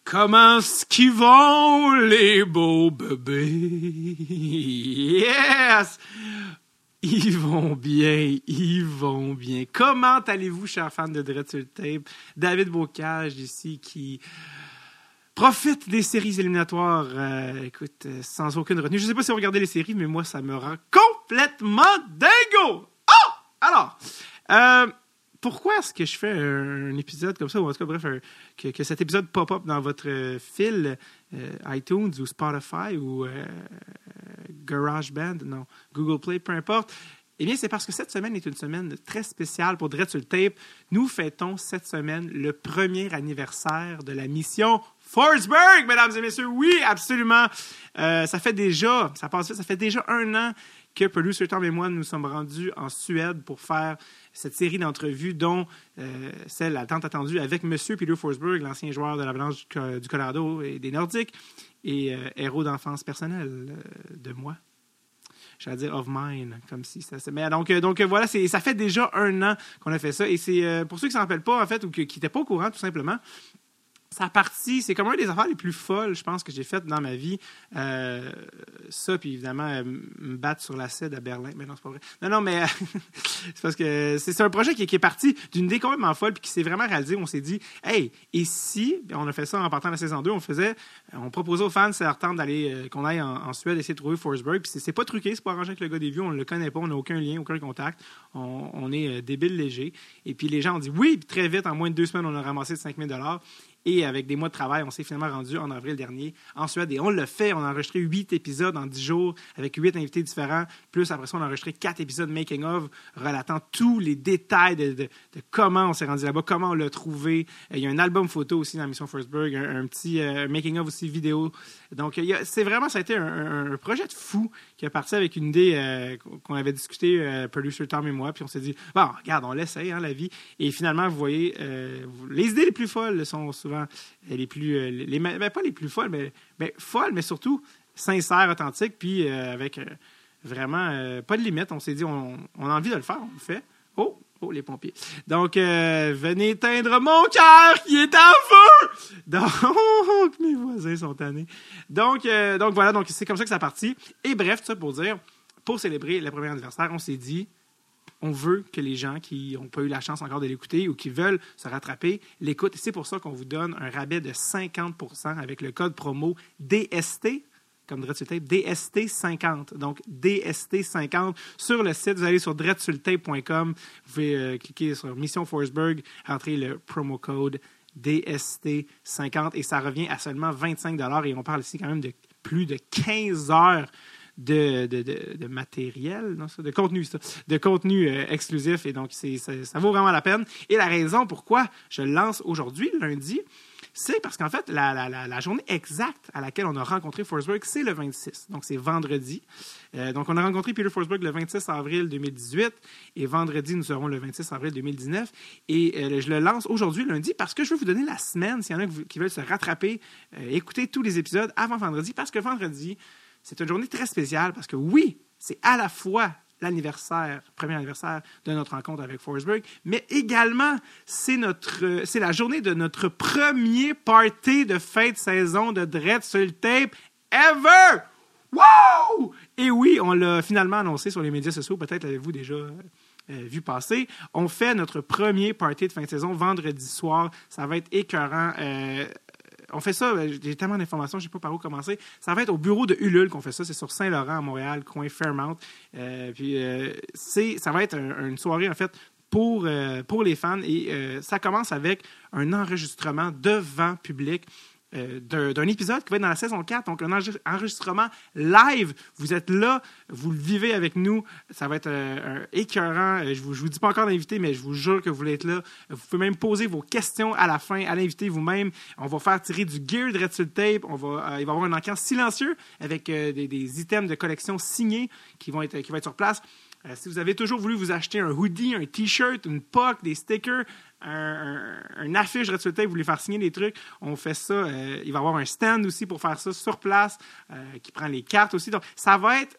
Comment est-ce qu'ils vont, les beaux bébés? Yes! Ils vont bien, ils vont bien. Comment allez-vous, chers fans de Dread sur le Tape? David Bocage ici qui profite des séries éliminatoires, sans aucune retenue. Je ne sais pas si vous regardez les séries, mais moi, ça me rend complètement dingo! Oh! Alors, pourquoi est-ce que je fais un épisode comme ça, ou en tout cas, bref, que cet épisode pop-up dans votre fil iTunes ou Spotify ou GarageBand, non, Google Play, peu importe? Eh bien, c'est parce que cette semaine est une semaine très spéciale pour Dread sur le Tape. Nous fêtons cette semaine le premier anniversaire de la mission Forsberg, mesdames et messieurs. Oui, absolument. Ça fait déjà 1 an que Producer Tom et moi nous sommes rendus en Suède pour faire cette série d'entrevues, dont celle à tant attendue avec M. Peter Forsberg, l'ancien joueur de l'Avalanche du Colorado et des Nordiques, et héros d'enfance personnelle de moi. J'allais dire of mine, comme si ça... Mais donc voilà, ça fait déjà 1 an qu'on a fait ça. Et c'est pour ceux qui ne s'en rappellent pas, en fait, ou qui n'étaient pas au courant, tout simplement, c'est comme un des affaires les plus folles, je pense, que j'ai faites dans ma vie. Ça, puis évidemment, me battre sur la scène à Berlin. Mais non, c'est pas vrai. Non, mais c'est parce que c'est un projet qui est parti d'une idée complètement folle, puis qui s'est vraiment réalisé. On s'est dit, hey, et si, on a fait ça en partant de la saison 2, on proposait aux fans, c'est leur temps d'aller, qu'on aille en Suède, essayer de trouver Forsberg. Puis c'est pas truqué, c'est pas arrangé avec le gars des vues, on ne le connaît pas, on n'a aucun lien, aucun contact. On est débile léger. Et puis les gens ont dit oui, puis très vite, en moins de 2 semaines, on a ramassé 5 000 $. Et avec des mois de travail, on s'est finalement rendu en avril dernier en Suède. Et on l'a fait. On a enregistré 8 épisodes en 10 jours avec 8 invités différents. Plus après ça, on a enregistré 4 épisodes making-of relatant tous les détails de comment on s'est rendu là-bas, comment on l'a trouvé. Il y a un album photo aussi dans la mission Forsberg, un petit making-of aussi vidéo. Donc, ça a été un projet de fou qui est parti avec une idée qu'on avait discuté, Producer Tom et moi. Puis on s'est dit, bon, regarde, on l'essaye, hein, la vie. Et finalement, vous voyez, les idées les plus folles sont souvent les plus... pas les plus folles, mais folles, mais surtout sincères, authentiques, puis avec vraiment pas de limite. On s'est dit, on a envie de le faire, on le fait. Oh, les pompiers. Donc, venez éteindre mon cœur qui est en feu! Donc, mes voisins sont tannés. Donc voilà, donc c'est comme ça que ça a parti. Et bref, tout ça pour dire, pour célébrer le premier anniversaire, on s'est dit, on veut que les gens qui n'ont pas eu la chance encore de l'écouter ou qui veulent se rattraper l'écoutent. C'est pour ça qu'on vous donne un rabais de 50% avec le code promo DST, comme Dread sur le Tape, DST50. Donc, DST50 sur le site. Vous allez sur dreadsurletape.com. Vous pouvez cliquer sur Mission Forsberg, entrer le promo code DST50 et ça revient à seulement 25 $. Et on parle ici quand même de plus de 15 heures de matériel, non, ça, de contenu exclusif. Et donc, ça vaut vraiment la peine. Et la raison pourquoi je le lance aujourd'hui, lundi, c'est parce qu'en fait, la journée exacte à laquelle on a rencontré Forsberg, c'est le 26. Donc, c'est vendredi. Donc, on a rencontré Peter Forsberg le 26 avril 2018 et vendredi, nous serons le 26 avril 2019. Et je le lance aujourd'hui, lundi, parce que je veux vous donner la semaine, s'il y en a qui veulent se rattraper, écouter tous les épisodes avant vendredi, parce que vendredi, c'est une journée très spéciale parce que oui, c'est à la fois premier anniversaire de notre rencontre avec Forsberg, mais également, c'est la journée de notre premier party de fin de saison de Dread sur le Tape ever! Wow! Et oui, on l'a finalement annoncé sur les médias sociaux, peut-être l'avez-vous déjà vu passer. On fait notre premier party de fin de saison vendredi soir. Ça va être écœurant. On fait ça, j'ai tellement d'informations, je ne sais pas par où commencer. Ça va être au bureau de Ulule qu'on fait ça. C'est sur Saint-Laurent, à Montréal, coin Fairmount. Ça va être une soirée, en fait, pour les fans. Et ça commence avec un enregistrement devant public d'un épisode qui va être dans la saison 4. Donc, un enregistrement live. Vous êtes là, vous le vivez avec nous. Ça va être écœurant. Je vous dis pas encore d'invité, mais je vous jure que vous voulez être là. Vous pouvez même poser vos questions à la fin, à l'invité vous-même. On va faire tirer du gear de Dread sur le Tape. Il va y avoir un encan silencieux avec des items de collection signés qui vont être sur place. Si vous avez toujours voulu vous acheter un hoodie, un T-shirt, une puck, des stickers, un affiche Dread sur le Tape, vous voulez faire signer des trucs, on fait ça. Il va y avoir un stand aussi pour faire ça sur place, qui prend les cartes aussi. Donc, ça va être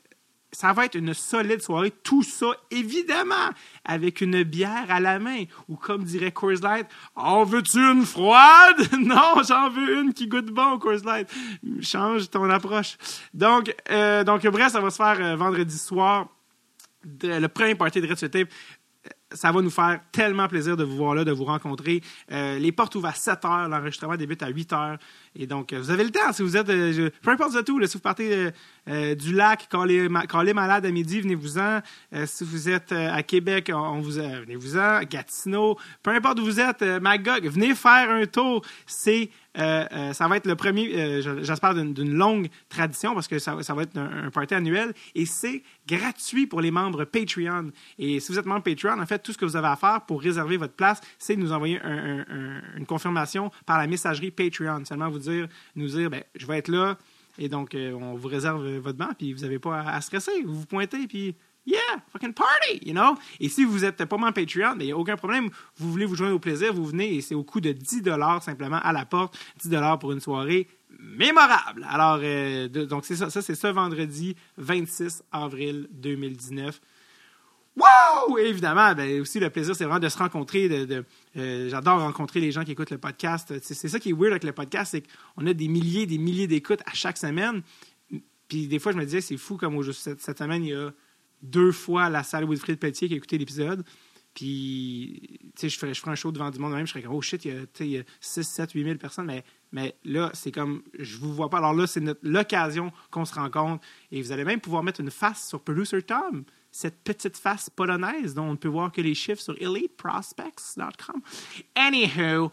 Ça va être une solide soirée. Tout ça, évidemment, avec une bière à la main. Ou comme dirait Coors Light, « En veux-tu une froide? » Non, j'en veux une qui goûte bon, Coors Light. Change ton approche. Donc bref, ça va se faire vendredi soir. Le premier party de Red Sur Tape. Ça va nous faire tellement plaisir de vous voir là, de vous rencontrer. Les portes ouvrent à 7 h, l'enregistrement débute à 8 h. Et donc, vous avez le temps. Si vous êtes, peu importe vous êtes où, là, si vous partez du lac, quand les malades à midi, venez-vous-en. Si vous êtes à Québec, venez-vous-en. Gatineau, peu importe où vous êtes, Magog, venez faire un tour. Ça va être le premier, j'espère, d'une longue tradition parce que ça va être un party annuel et c'est gratuit pour les membres Patreon. Et si vous êtes membre Patreon, en fait, tout ce que vous avez à faire pour réserver votre place, c'est de nous envoyer une confirmation par la messagerie Patreon. Seulement nous dire, je vais être là et donc on vous réserve votre banc puis vous n'avez pas à stresser. Vous vous pointez puis yeah, fucking party, you know? Et si vous n'êtes pas membre Patreon, il n'y a aucun problème. Vous voulez vous joindre au plaisir, vous venez et c'est au coût de 10 $ simplement à la porte. 10 $ pour une soirée mémorable. Alors, donc c'est ça. Ça, c'est ce vendredi 26 avril 2019. Wow! Et évidemment, aussi, le plaisir, c'est vraiment de se rencontrer. J'adore rencontrer les gens qui écoutent le podcast. C'est ça qui est weird avec le podcast, c'est qu'on a des milliers d'écoutes à chaque semaine. Puis des fois, je me disais, c'est fou comme cette semaine, il y a 2 fois la salle Wilfrid Pelletier qui a écouté l'épisode. Puis, tu sais, je ferais un show devant du monde même. Je serais comme, oh shit, il y a 6, 7, 8 000 personnes. Mais là, c'est comme, je vous vois pas. Alors là, c'est l'occasion qu'on se rencontre. Et vous allez même pouvoir mettre une face sur Producer Tom. Cette petite face polonaise dont on ne peut voir que les chiffres sur eliteprospects.com. Anywho,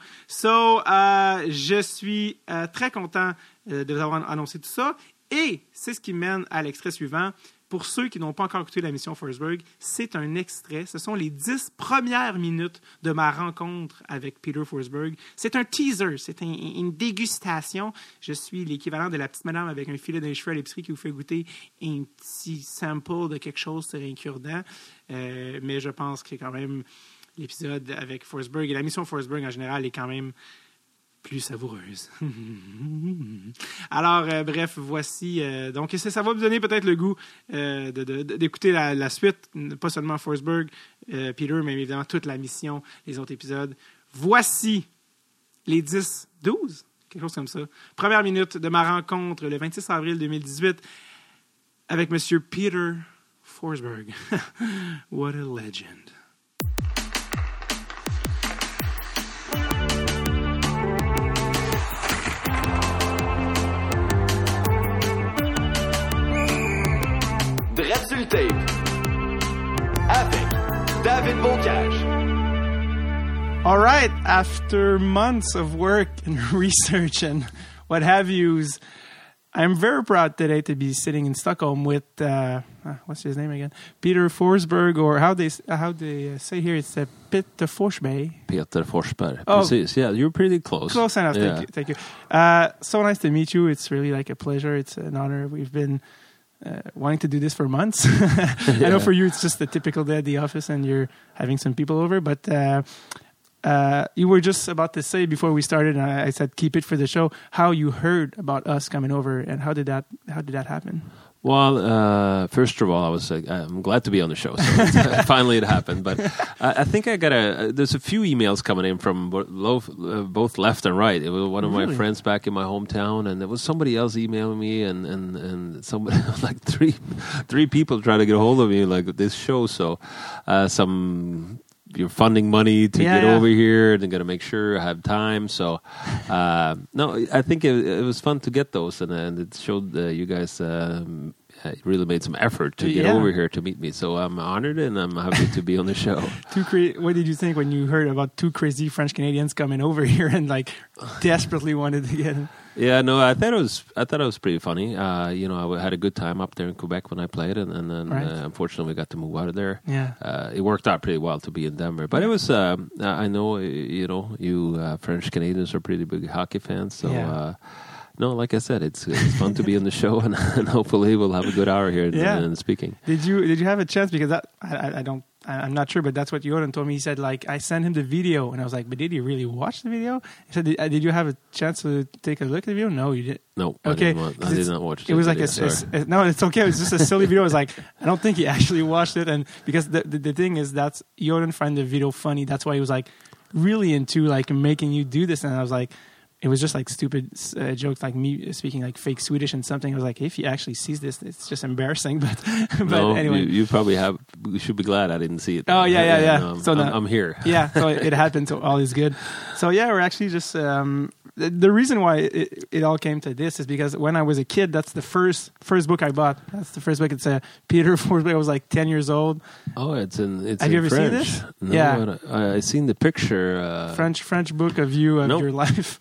je suis très content de vous avoir annoncé tout ça. Et c'est ce qui mène à l'extrait suivant. Pour ceux qui n'ont pas encore écouté la mission Forsberg, c'est un extrait. Ce sont les 10 premières minutes de ma rencontre avec Peter Forsberg. C'est un teaser, c'est une dégustation. Je suis l'équivalent de la petite madame avec un filet dans les cheveux à l'épicerie qui vous fait goûter un petit sample de quelque chose sur un cure-dent. Mais je pense que quand même l'épisode avec Forsberg et la mission Forsberg en général est quand même plus savoureuse. Alors, bref, voici. Donc, ça va vous donner peut-être le goût d'écouter la suite, pas seulement Forsberg, Peter, mais évidemment toute la mission, les autres épisodes. Voici les 10, 12, quelque chose comme ça. Première minute de ma rencontre le 26 avril 2018 avec M. Peter Forsberg. What a legend. Red Sur Tape avec David Bocage. All right, after months of work and research and what have yous, I'm very proud today to be sitting in Stockholm with what's his name again? Peter Forsberg, or how they say here, it's Peter Forsberg. Peter Forsberg. Oh. Precis. Yeah, you're pretty close. Close enough. Yeah. Thank you. So nice to meet you. It's really like a pleasure. It's an honor. We've been wanting to do this for months. I know for you it's just a typical day at the office and you're having some people over, but you were just about to say before we started, and I said keep it for the show, how you heard about us coming over and how did that happen? Well, first of all, I'm glad to be on the show. So finally, it happened. But I think there's a few emails coming in from both left and right. It was one of my friends back in my hometown, and there was somebody else emailing me, and somebody like three people trying to get a hold of me like this show. So you're funding money to get over here and got to make sure I have time. So, no, I think it was fun to get those, and it showed you guys really made some effort to get over here to meet me. So I'm honored and I'm happy to be on the show. What did you think when you heard about 2 crazy French Canadians coming over here and like desperately wanted to get him? Yeah, no, I thought it was pretty funny. I had a good time up there in Quebec when I played, and then unfortunately we got to move out of there. Yeah, it worked out pretty well to be in Denver, but it was. I know you French Canadians are pretty big hockey fans, so. No, like I said, it's fun to be on the show, and hopefully we'll have a good hour here in speaking. Did you have a chance? Because I don't I'm not sure, but that's what Jordan told me. He said, like, I sent him the video, and I was like, but did he really watch the video? He said, did you have a chance to take a look at the video? No, you didn't. No, Okay. I did not watch it. It was like no, it's okay. It was just a silly video. I was like, I don't think he actually watched it, and because the thing is, that's Jordan find the video funny. That's why he was like really into like making you do this, and I was like. It was just like stupid jokes, like me speaking like fake Swedish and something. I was like, if he actually sees this, it's just embarrassing. But no, anyway, you probably have. You should be glad I didn't see it. Oh yeah. No, So I'm here. Yeah, so it happened. So all is good. So yeah, we're actually just the reason why it all came to this is because when I was a kid, that's the first book I bought. That's the first book. It's a Peter Forsberg. I was like 10 years old. Oh, it's Have in you ever French. seen this? No, Yeah. I seen the picture. French book of you of Nope. your life.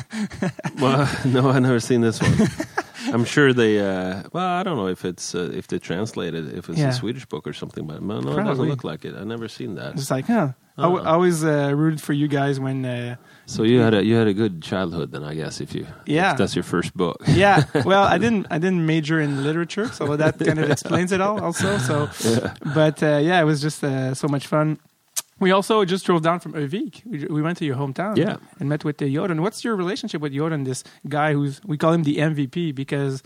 Well, no, I've never seen this one. I'm sure they. Well, I don't know if it's if they translated if it's Yeah. a Swedish book or something, but no, it doesn't Probably. look like it. I've never seen that. It's like, huh. I always rooted for you guys when. So you had a good childhood then, I guess. If that's your first book. Yeah. Well, I didn't major in literature, so that kind of explains it all. Also, so. Yeah. But it was just so much fun. We also just drove down from Övik. We went to your hometown, Yeah. and met with Jordan. What's your relationship with Jordan? This guy we call him the MVP because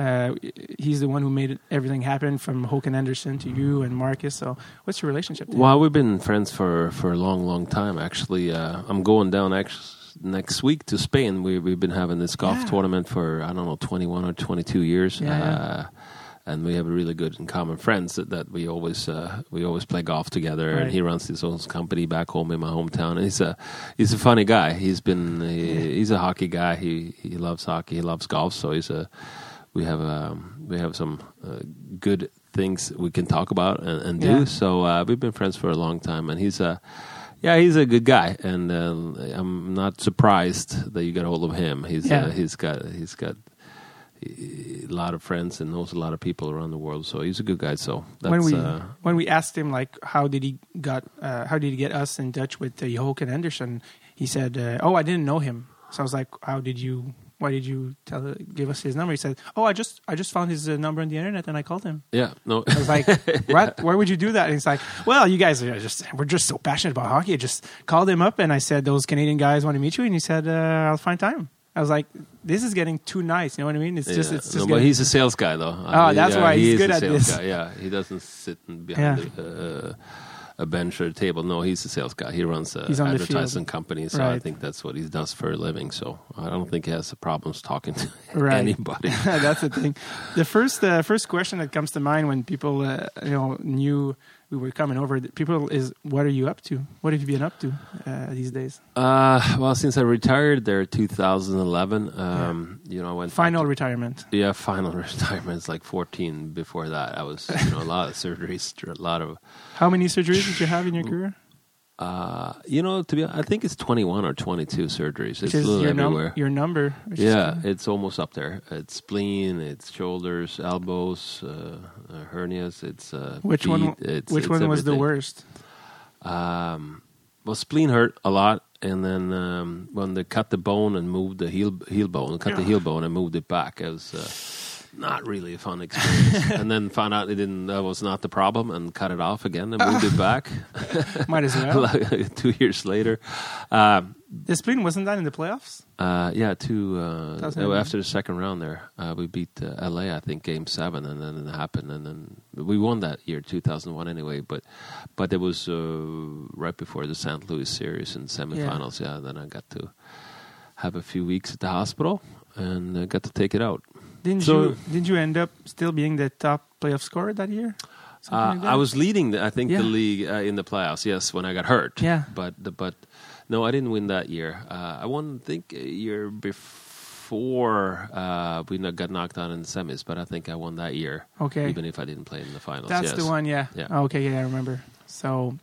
he's the one who made everything happen, from Håkan Andersson to you and Marcus. So, what's your relationship? To him? Well, we've been friends for a long time. Actually, I'm going down next week to Spain. We've been having this golf tournament for 21 or 22 years. Yeah. And we have really good and common friends that we always play golf together. Right. And he runs his own company back home in my hometown. And he's a funny guy. He's a hockey guy. He loves hockey. He loves golf. So we have some good things we can talk about and do. Yeah. So we've been friends for a long time. And he's a good guy. And I'm not surprised that you got a hold of him. He's got a lot of friends and knows a lot of people around the world, so he's a good guy. So that's, when we asked him like how did he get us in touch with Håkan Andersson, he said, "Oh, I didn't know him." So I was like, "Why did you give us his number?" He said, "Oh, I just found his number on the internet and I called him." Yeah, no. I was like, "What? Why would you do that?" And he's like, "Well, you guys we're just so passionate about hockey. I just called him up and I said those Canadian guys want to meet you, and he said I'll find time." I was like, this is getting too nice. You know what I mean? It's just but he's a sales guy, though. That's why he's good at this. Guy. Yeah, he doesn't sit behind a bench or a table. No, he's a sales guy. He runs an advertising company, so I think that's what he does for a living. So I don't think he has problems talking to anybody. That's the thing. The first question that comes to mind when people knew we were coming over, people is, what are you up to? What have you been up to these days? Well, since I retired there in 2011, I went final retirement. Yeah, final retirement. It's like 14 before that. I was a lot of surgeries, a lot of. How many surgeries did you have in your career? I think it's 21 or 22 surgeries. It's a little everywhere. Your number. It's almost up there. It's spleen, it's shoulders, elbows, hernias. It's which feet, one? Which one was the everything. worst? Well, spleen hurt a lot, and then when they cut the bone and moved the heel bone, the heel bone and moved it back, it was not really a fun experience. And then found out that was not the problem and cut it off again and moved it back. Might as well. Like 2 years later. The spleen wasn't that in the playoffs? After the second round there, we beat LA, I think, Game 7, and then it happened, and then we won that year, 2001 anyway, but it was right before the St. Louis series in semifinals, then I got to have a few weeks at the hospital, and got to take it out. Didn't you end up still being the top playoff scorer that year? I was leading, the league in the playoffs, yes, when I got hurt. Yeah. But no, I didn't win that year. I won, I think, a year before we got knocked out in the semis, but I think I won that year. Okay. Even if I didn't play in the finals. That's the one, yeah. Okay, I remember. So,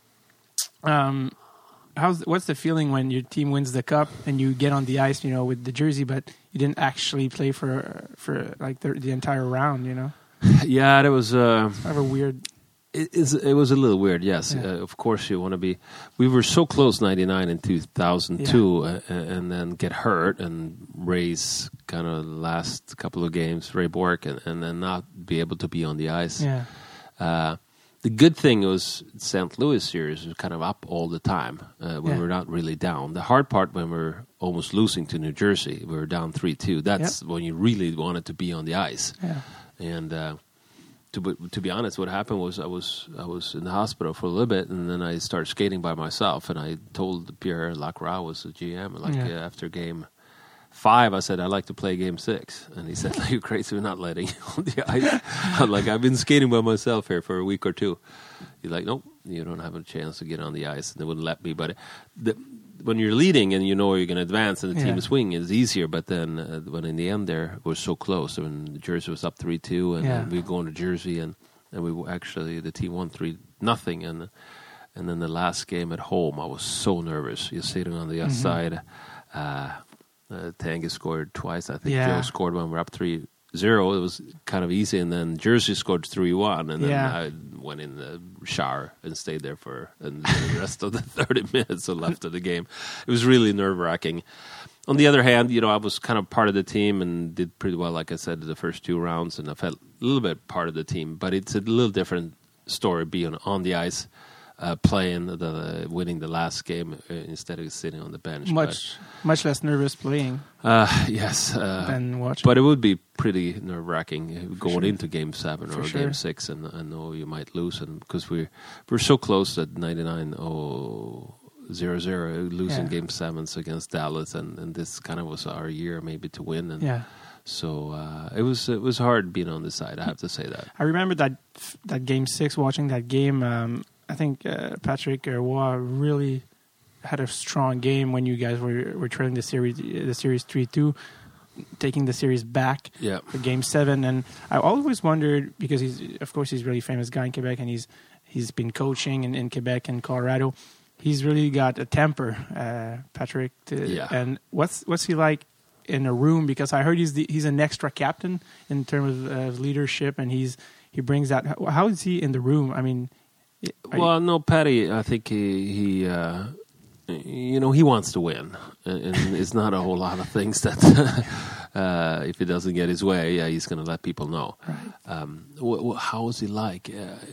what's the feeling when your team wins the cup and you get on the ice, with the jersey, but you didn't actually play for like the entire round, Yeah, that was kind of a weird. It was a little weird, yes. Yeah. Of course, you want to be. We were so close, 99 and 2002, and then get hurt and race kind of the last couple of games, Ray Bork, and then not be able to be on the ice. Yeah. The good thing was St. Louis series was kind of up all the time when we're not really down. The hard part when we're almost losing to New Jersey, we were down 3-2. That's when you really wanted to be on the ice. Yeah. And to be honest, what happened was I was in the hospital for a little bit, and then I started skating by myself. And I told Pierre Lacroix, was the GM, after game 5, I said, I'd like to play game 6. And he said, you're crazy, we're not letting you on the ice. I'm like, I've been skating by myself here for a week or 2. He's like, nope, you don't have a chance to get on the ice. And they wouldn't let me. But when you're leading and you know you're going to advance and the team is winning, it's easier. But then when in the end there, we're so close. When Jersey was up 3-2 and then we go into Jersey and we actually, the team won 3-0. And then the last game at home, I was so nervous. You're sitting on the other side. Tanguy scored twice. I think Joe scored when we were up 3-0. It was kind of easy. And then Jersey scored 3-1. And then I went in the shower and stayed there for the rest of the 30 minutes left of the game. It was really nerve-wracking. On the other hand, I was kind of part of the team and did pretty well, like I said, the first 2 rounds. And I felt a little bit part of the team. But it's a little different story being on the ice. Playing winning the last game instead of sitting on the bench. Much less nervous playing. Yes. Than watching. But it would be pretty nerve-wracking going into Game 7 or Game 6, and I know you might lose, and because we're so close at 99-0-0, losing Game 7s against Dallas, and this kind of was our year maybe to win. And so it was hard being on this side. I have to say that. I remember that Game 6, watching that game. I think Patrick Roy really had a strong game when you guys were trailing the series 3-2, taking the series back for Game 7. And I always wondered, because he's a really famous guy in Quebec, and he's been coaching in Quebec and Colorado. He's really got a temper, Patrick. And what's he like in a room? Because I heard he's an extra captain in terms of leadership, and he brings that. How is he in the room? I mean. No, Patty, I think he wants to win, and it's not a whole lot of things that if he doesn't get his way, he's going to let people know. Right. How is he like?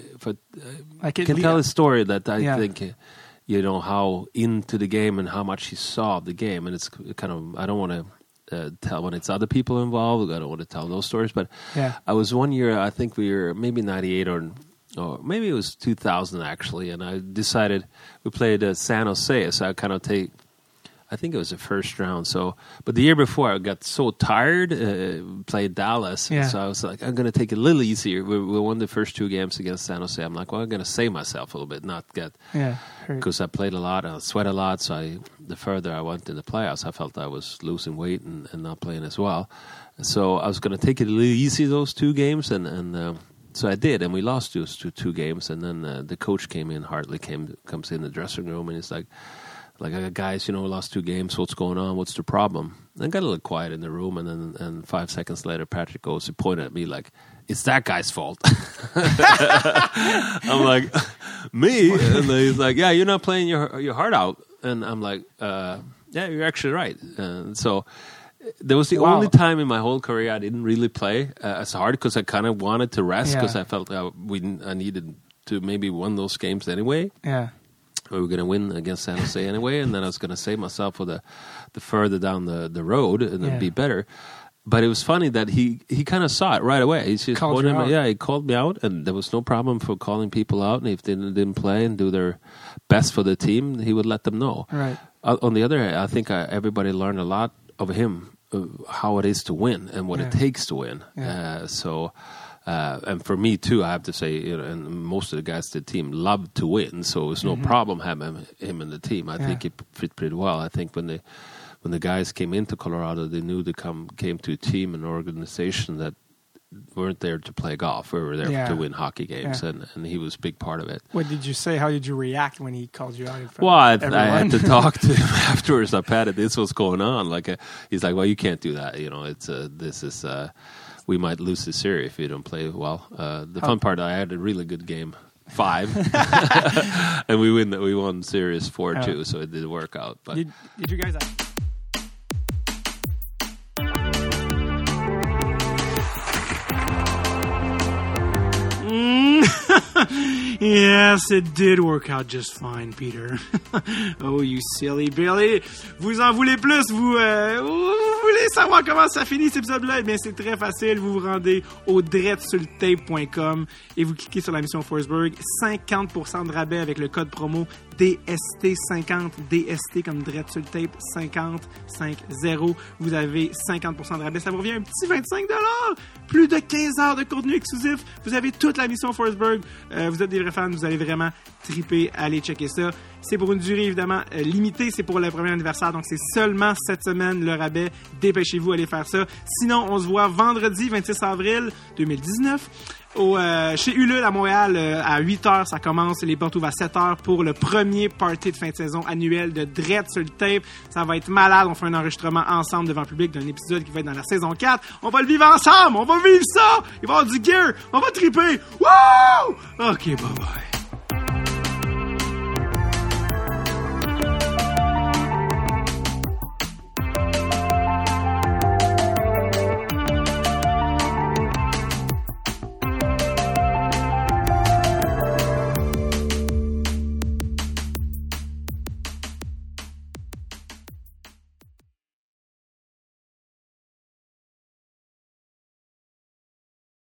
I can tell a story that I think, how into the game and how much he saw of the game, and it's kind of, I don't want to tell when it's other people involved. I don't want to tell those stories, but I was one year, I think we were maybe 98 or maybe it was 2000 actually, and I decided we played San Jose, so I kind of I think it was the first round. So, but the year before I got so tired, played Dallas, so I was like, I'm going to take it a little easier. We won the first 2 games against San Jose. I'm like, well, I'm going to save myself a little bit, not get because I played a lot and I sweat a lot. So the further I went in the playoffs, I felt I was losing weight and not playing as well. So I was going to take it a little easy those 2 games, and so I did, and we lost those 2 games. And then the coach came in, Hartley comes in the dressing room, and he's like, guys, we lost 2 games. What's going on? What's the problem? And I got a little quiet in the room, and 5 seconds later, Patrick goes, he pointed at me like, it's that guy's fault. I'm like, me? And he's like, yeah, you're not playing your heart out. And I'm like, yeah, you're actually right. And so there was the only time in my whole career I didn't really play as hard, because I kind of wanted to rest, because I felt I needed to maybe win those games anyway. Yeah. We were going to win against San Jose anyway, and then I was going to save myself for the further down the road and then be better. But it was funny that he kind of saw it right away. He just he called me out, and there was no problem for calling people out. And if they didn't play and do their best for the team, he would let them know. Right. On the other hand, I think everybody learned a lot of him, how it is to win and what it takes to win. Yeah. And for me too, I have to say, and most of the guys to the team loved to win, so it was no problem having him in the team. I think it fit pretty well. I think when the guys came into Colorado, they knew they came to a team, an organization that weren't there to play golf. We were there to win hockey games, and he was a big part of it. What did you say? How did you react when he called you out in front of everyone? I had to talk to him afterwards. I patted this was going on. He's like, well, you can't do that. We might lose this series if you don't play well. The fun part, I had a really good game 5, and we won series 4-2, so it did work out. But did you guys? Yes, it did work out just fine, Peter. Oh, you silly Billy. Vous en voulez plus? Vous voulez savoir comment ça finit cet épisode-là? Eh bien, c'est très facile. Vous vous rendez au dreadsultape.com et vous cliquez sur la mission Forsberg. 50% de rabais avec le code promo DST50. DST comme Dread sur le tape 50. Vous avez 50% de rabais. Ça vous revient un petit 25$. Plus de 15 heures de contenu exclusif. Vous avez toute la mission Forsberg. Vous êtes des vrais fans. Vous allez vraiment triper. Allez checker ça. C'est pour une durée évidemment limitée. C'est pour le premier anniversaire. Donc c'est seulement cette semaine le rabais. Dépêchez-vous, allez faire ça. Sinon, on se voit vendredi 26 avril 2019 chez Ulule à Montréal à 8h. Ça commence. Les portes ouvrent à 7h pour le premier party de fin de saison annuel de Dread sur le tape. Ça va être malade. On fait un enregistrement ensemble devant le public d'un épisode qui va être dans la saison 4. On va le vivre ensemble. On va vivre ça. Il va y avoir du gear. On va triper. Wouh! OK, bye bye.